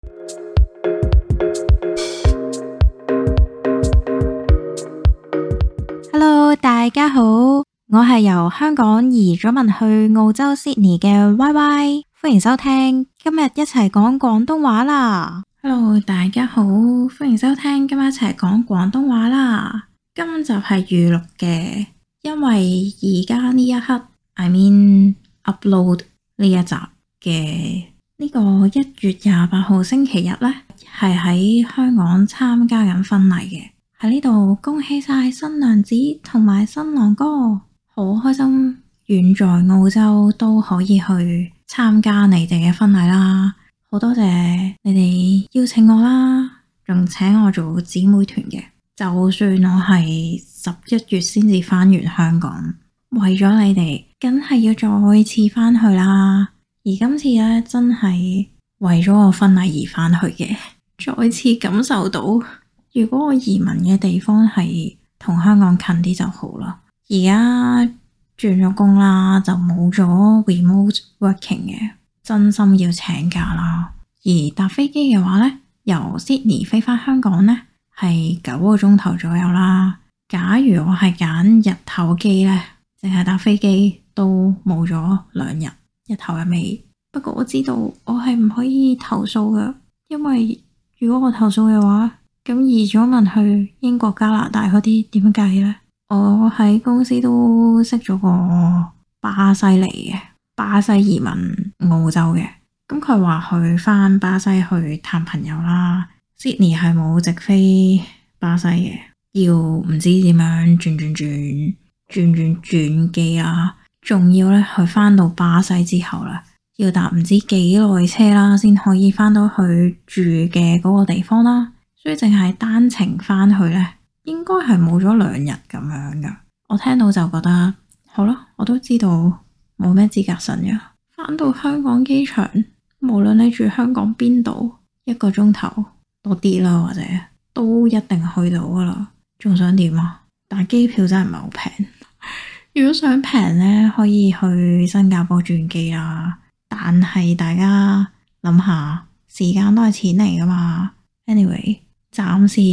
Hello， 大家好，我係由香港移咗民去澳洲 Sydney 嘅 YY， 歡迎收聽，今日一齊講廣東話啦。Hello， 大家好，歡迎收聽，今日一齊講廣東話啦。今集係預錄嘅，因為而家呢一刻 I mean upload 呢一集嘅呢個1月28號星期日呢，係喺香港參加緊婚禮嘅。喺呢度恭喜晒新娘子同埋新郎哥，好開心遠在澳洲都可以去參加你哋嘅婚禮啦，好多謝你哋邀請我啦，仲請我做姊妹團嘅。就算我係11月先至返完香港，為咗你哋，梗係要再次返去啦。而今次呢，真係為咗我婚禮而返去嘅，再次感受到。如果我移民嘅地方係同香港近啲就好啦。而家轉咗工啦，就冇咗 remote working 嘅，真心要請假啦。而搭飛機嘅話呢，由 Sydney 飛返香港呢，係9個鐘頭左右啦。假如我係揀日頭機呢，淨係搭飛機都冇咗2日，一頭一尾。不過我知道我係唔可以投訴㗎，因為如果我投訴嘅話，咁移咗民去英國、加拿大嗰啲點計呢？我喺公司都識咗個巴西嚟嘅，巴西移民澳洲嘅。咁佢話去返巴西去探朋友啦。Sydney 係冇直飛巴西嘅，要唔知點樣轉機啊。仲要咧去返到巴西之後咧，要搭唔知幾耐車啦，先可以返到去住嘅嗰個地方啦。所以淨係單程返去呢，應該係冇咗2日咁樣噶。我聽到就覺得好啦，我都知道冇咩資格審嘅。返到香港機場，無論你住香港邊度，1個鐘頭多啲啦，或者都一定去到噶啦。仲想點啊？但係機票真係唔係好平。如果想平呢，可以去新加坡轉機啦。但係大家諗下，時間都係錢嚟噶嘛。Anyway。暫時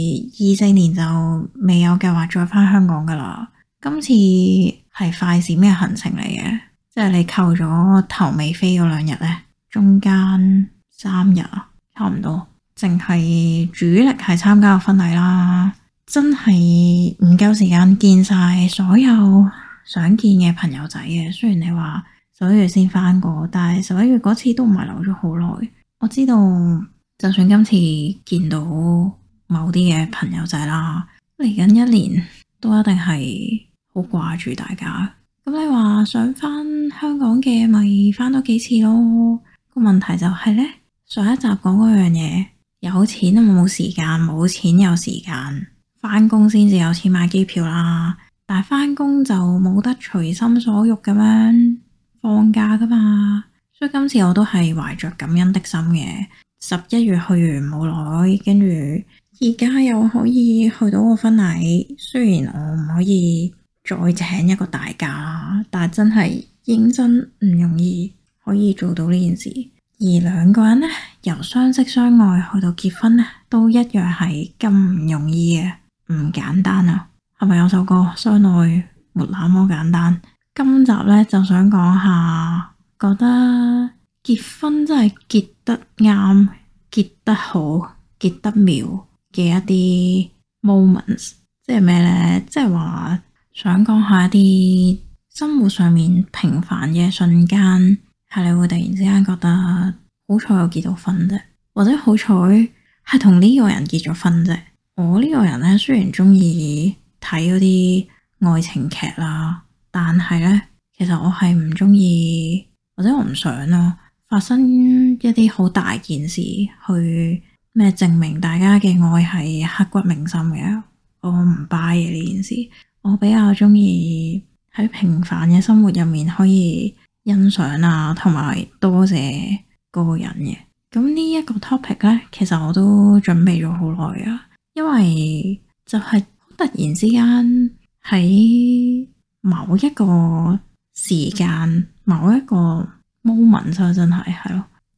24年就未有計劃再返香港噶啦。今次係快閃嘅行程嚟嘅，即係你扣咗頭尾飛嗰2日呢，中間3日啊，差唔多。淨係主力係參加個婚禮啦，真係唔夠時間見晒所有想見嘅朋友仔嘅。雖然你話11月先返過，但係11月嗰次都唔係留咗好耐。我知道。就算今次見到某啲嘅朋友仔啦，嚟緊1年都一定係好掛住大家。咁你話想返香港嘅，咪返多幾次咯。個問題就係呢，上一集講嗰樣嘢，有錢都冇時間，冇錢有時間。返工先至有錢買機票啦，但係返工就冇得隨心所欲咁樣放假噶嘛。所以今次我都係懷着感恩的心嘅。11月去完冇耐，跟住而家又可以去到個婚禮。雖然我唔可以再請一個大假，但係真係認真唔容易可以做到呢件事。而2個人呢，由相識相愛去到結婚呢，都一樣係咁唔容易嘅，唔簡單啊！係咪有首歌相愛沒那麼簡單？今集呢，就想講下，覺得結婚真係結得啱、結得好、結得妙嘅一啲 moments， 即係咩呢？即係話想講下一啲生活上面平凡嘅瞬間，係你會突然之間覺得好彩我結到婚啫，或者好彩係同呢個人結咗婚啫。我呢個人呢，雖然中意睇嗰啲愛情劇啦，但係呢，其實我係唔中意，或者我唔想咯，發生一啲好大件事去咩證明大家嘅愛係刻骨銘心嘅。我唔 buy 嘅呢件事，我比較中意喺平凡嘅生活入面可以欣賞啊，同埋多謝嗰個人嘅。咁呢一個 topic 呢，其實我都準備咗好耐啊，因為就係突然之間喺某一個時間、某一個 moment 真係咯，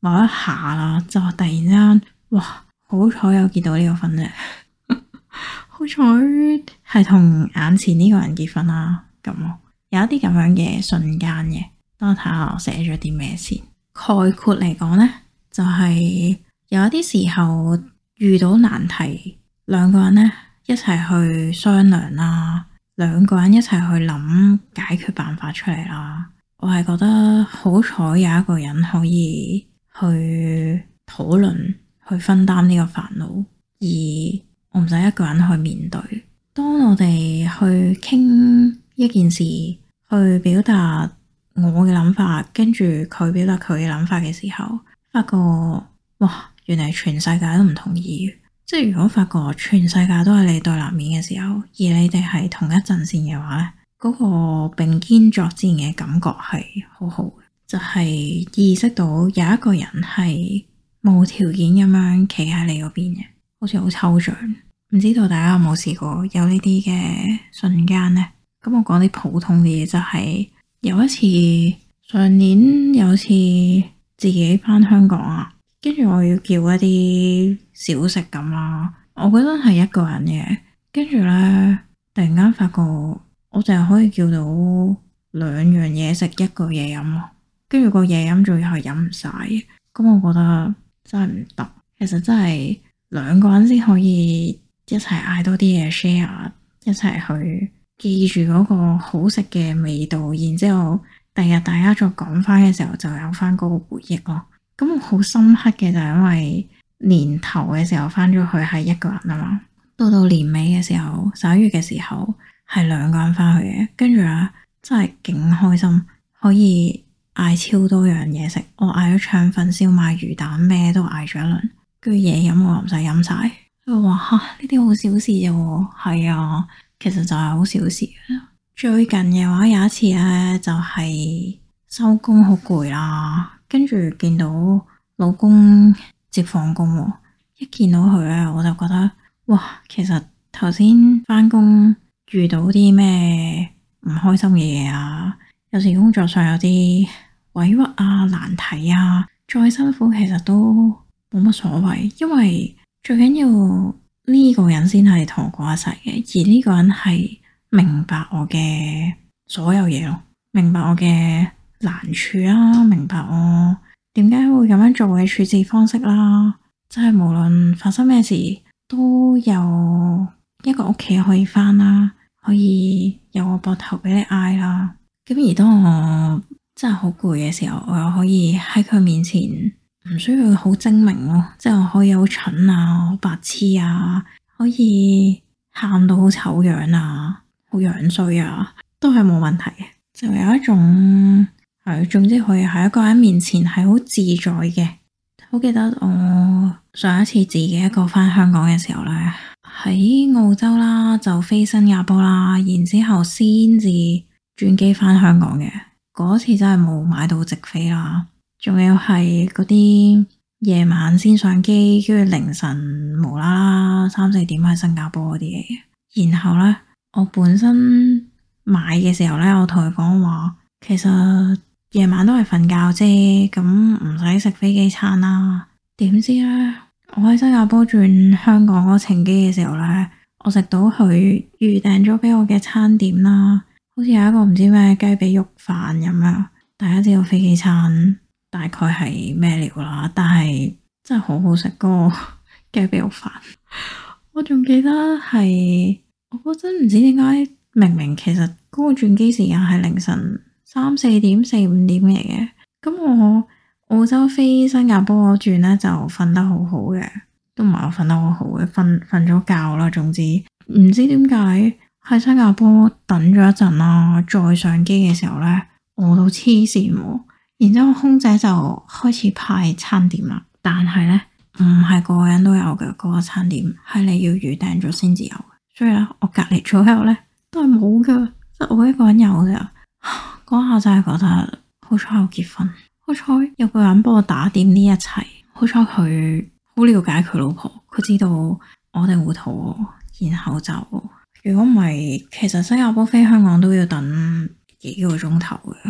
某一下啦，就突然之間，哇！好彩有結到呢個婚啫，好彩係同眼前呢個人結婚啦。咁有一啲咁樣嘅瞬間嘅，等我睇下我寫咗啲咩先。概括嚟講呢，就係有一啲時候遇到難題，兩個人呢一齊去商量啦，兩個人一齊去諗解決辦法出嚟啦。我係覺得好彩有一個人可以去討論，去分擔呢個煩惱，而我唔使一個人去面對。當我哋去傾一件事，去表達我嘅諗法，跟住佢表達佢嘅諗法嘅時候，發覺哇，原來全世界都唔同意。即係如果發覺全世界都係你對立面嘅時候，而你哋係同一陣線嘅話咧，嗰個並肩作戰嘅感覺係好好嘅，就係意識到有一個人係無條件咁樣企喺你嗰邊嘅，好似好抽象。唔知道大家有冇試過有呢啲嘅瞬間呢？咁我講啲普通啲嘢，就係有一次上年有次自己翻香港啊，跟住我要叫一啲小食咁啦，我覺得係一個人嘅，跟住呢，突然間發覺我淨係可以叫到兩樣嘢食，一個嘢飲咯，跟住個嘢飲仲要係飲唔晒嘅，咁我覺得真係唔得。其實真係兩個人先可以一齊嗌多啲嘢 share， 一齊去記住嗰個好食嘅味道，然之後第日大家再講翻嘅時候就有翻嗰個回憶咯。咁我好深刻嘅就係因為年頭嘅時候翻咗去係一個人啊嘛，到年尾嘅時候11月嘅時候係兩個人翻去嘅，跟住咧真係勁開心，可以嗌超多樣嘢食。我嗌咗腸粉、燒賣、魚蛋，咩都嗌咗一輪，跟住嘢飲我唔使飲晒。佢話呢啲好小事啫，係啊，其實就係好小事。最近嘅話有一次咧，就係收工好攰啦，跟住見到老公接放工，一見到佢咧，我就覺得哇，其實頭先翻工遇到啲咩唔開心嘅嘢啊，有時工作上有啲委屈啊、難題啊，再辛苦其實都冇乜所謂，因為最緊要呢個人先係同我過一齊嘅，而呢個人係明白我嘅所有嘢咯，明白我嘅難處啦，明白我點解會咁樣做嘅處置方式啦，即係無論發生咩事都有一個屋企可以返啦，可以有個膊頭俾你挨啦。咁而當我真係好攰嘅時候，我又可以喺佢面前唔需要好精明咯，即係我可以好蠢啊、好白痴啊，可以喊到好醜樣啊、好樣衰啊，都係冇問題嘅。就有一種係，總之可以喺一個人面前係好自在嘅。好記得我上一次自己一個返香港嘅時候呢，喺澳洲啦，就飛新加坡啦，然之後先至轉機返香港嘅。嗰次真係冇買到直飛啦。仲要係嗰啲夜晚先上機，跟住凌晨無啦啦3、4點喺新加坡嗰啲嘢嘅。然後呢，我本身買嘅時候呢，我同佢講話，其實夜晚都係瞓覺啫，咁唔使食飛機餐啦。點知呢，我喺新加坡轉香港嗰程機嘅時候呢，我食到佢預訂咗俾我嘅餐點啦，好似有一個唔知咩雞髀肉飯咁樣。大家知道飛機餐大概係咩料啦，但係真係好好食嗰個雞髀肉飯。我仲記得係我嗰陣唔知點解，明明其實嗰個轉機時間係凌晨3、4點、4、5點嚟嘅。咁我澳洲飛新加坡嗰轉呢，就瞓得好好嘅，都唔係我瞓得好好嘅，瞓咗覺啦。總之唔知點解喺新加坡等咗一陣啦，再上機嘅時候呢，餓到黐線喎。然之後空姐就開始派餐點啦，但係呢，唔係個個人都有嘅，嗰個餐點係你要預訂咗先至有嘅。所以咧，我隔籬左右呢都係冇㗎，即係我一個人有㗎。嗰下真係覺得好彩我結婚，好彩有個人幫我打點呢一切，好彩佢好了解佢老婆，佢知道我哋會肚餓，然後就如果唔係，其實新加坡飛香港都要等幾個鐘頭嘅。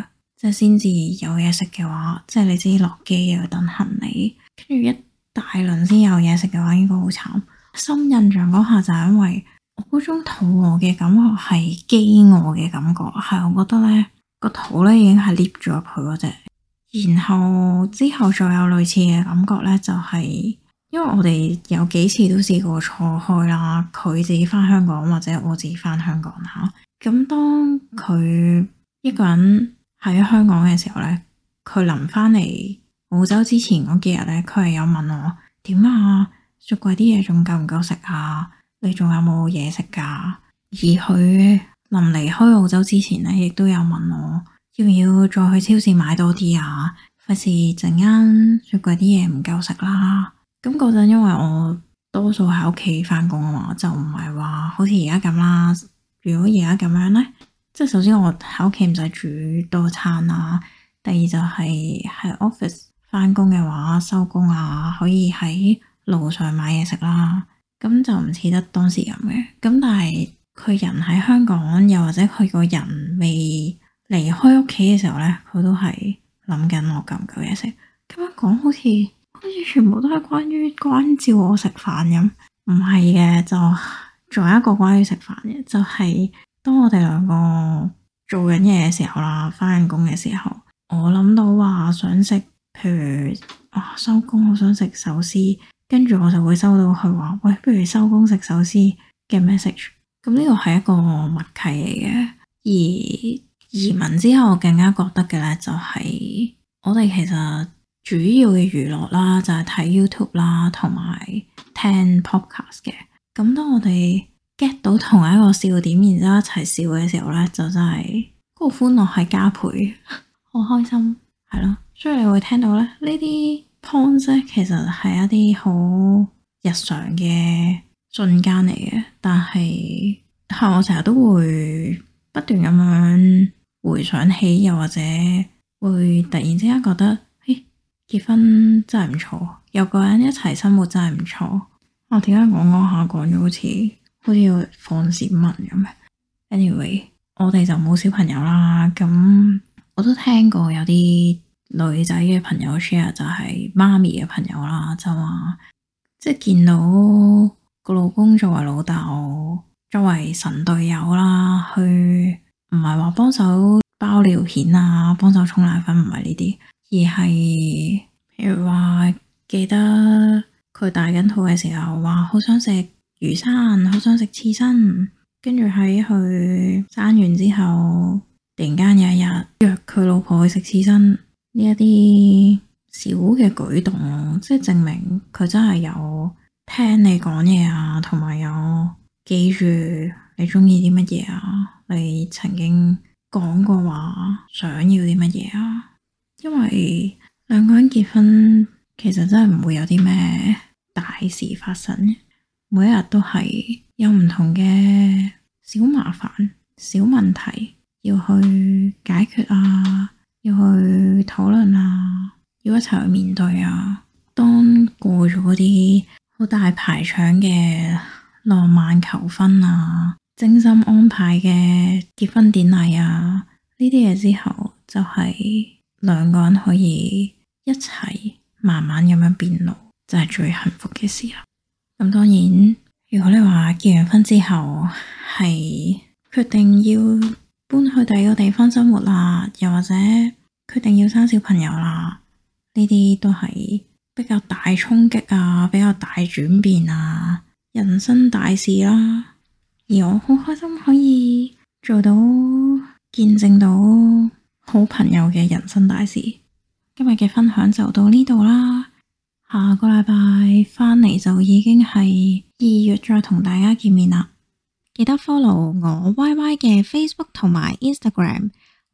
即係先至有嘢食嘅話，即係你知落機又要等行李，跟住一大輪先有嘢食嘅話，應該好慘。深印象嗰下就係因為我嗰種肚餓嘅感覺係飢餓嘅感覺，係我覺得咧個肚咧已經係 lift 咗入去嗰隻。然後之後再有類似嘅感覺咧，就係因為我哋有幾次都試過錯開啦，佢自己翻香港或者我自己翻香港吓。咁當佢一個人喺香港嘅時候咧，佢臨翻嚟澳洲之前嗰幾日咧，佢係有問我點啊，雪櫃啲嘢仲夠唔夠食啊？你仲有冇嘢食噶？而佢臨離開澳洲之前咧，亦都有問我要唔要再去超市買多啲啊？費事陣間雪櫃啲嘢唔夠食啦。咁嗰陣因為我多數喺屋企翻工啊嘛，就唔係話好似而家咁啦。如果而家咁樣咧，即係首先我喺屋企唔使煮多餐啦，第二就係喺 office 翻工嘅話，收工啊可以喺路上買嘢食啦。咁就唔似得當時咁嘅。咁但係佢人喺香港，又或者佢個人未離開屋企嘅時候咧，佢都係諗緊我夠唔夠嘢食。咁樣講好似全部都係關照我食飯咁，唔係嘅，就仲有一個關於食飯嘅，就係當我哋兩個做緊嘢嘅時候啦，翻緊工嘅時候，我諗到話想食，譬如收工好想食壽司，跟住我就會收到佢話喂，不如收工食壽司嘅 message。咁呢個係一個默契嚟嘅。而移民之後我更加覺得嘅咧，就係我哋其實主要嘅娛樂啦，就係睇 YouTube 啦，同埋聽 podcast 嘅。咁當我哋 get 到同一個笑點，然之後一齊笑嘅時候咧，就真係嗰個歡樂係加倍，好開心，係咯。所以你會聽到咧，呢啲 points 咧，其實係一啲好日常嘅瞬間嚟嘅，但係我成日都會不斷咁樣回想起，又或者會突然之間覺得，結婚真係唔錯，有個人一齊生活真係唔錯。我點解講下講咗好似要放閃文咁？Anyway，我哋就冇小朋友啦。咁我都聽過有啲女仔嘅朋友 share，就係媽咪嘅朋友啦，就話即係見到個老公作為老豆，作為神隊友啦，去唔係話幫手包尿片啊，幫手沖奶粉，唔係呢啲，而係譬如話記得佢大緊肚嘅時候，話好想食魚生，好想食刺身，跟住喺佢生完之後，突然間有一日約佢老婆去食刺身，呢一啲小嘅舉動，即係證明佢真係有聽你講嘢啊，同埋有記住你中意啲乜嘢啊，你曾經講過話想要啲乜嘢啊。因為兩個人結婚其實真係唔會有啲咩大事發生，每一日都係有唔同嘅小麻煩、小問題要去解決啊，要去討論啊，要一齊去面對啊。當過咗嗰啲好大排場嘅浪漫求婚啊，精心安排嘅結婚典禮啊，呢啲嘢之後，就係兩個人可以一齊慢慢咁樣變老，就係最幸福嘅時候。咁當然，如果你話結完婚之後係決定要搬去第二個地方生活啦，又或者決定要生小朋友啦，呢啲都係比較大衝擊啊，比較大轉變啊，人生大事啦。而我好開心可以做到見證到好朋友嘅人生大事。今日嘅分享就到呢度啦，下個禮拜返嚟就已經係2月再同大家見面啦。記得 follow 我 YY 嘅 Facebook 同埋 Instagram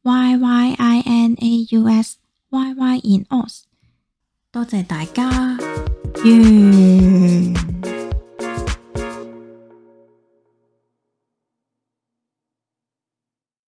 YYINAUS YY in Aus。多謝大家，完。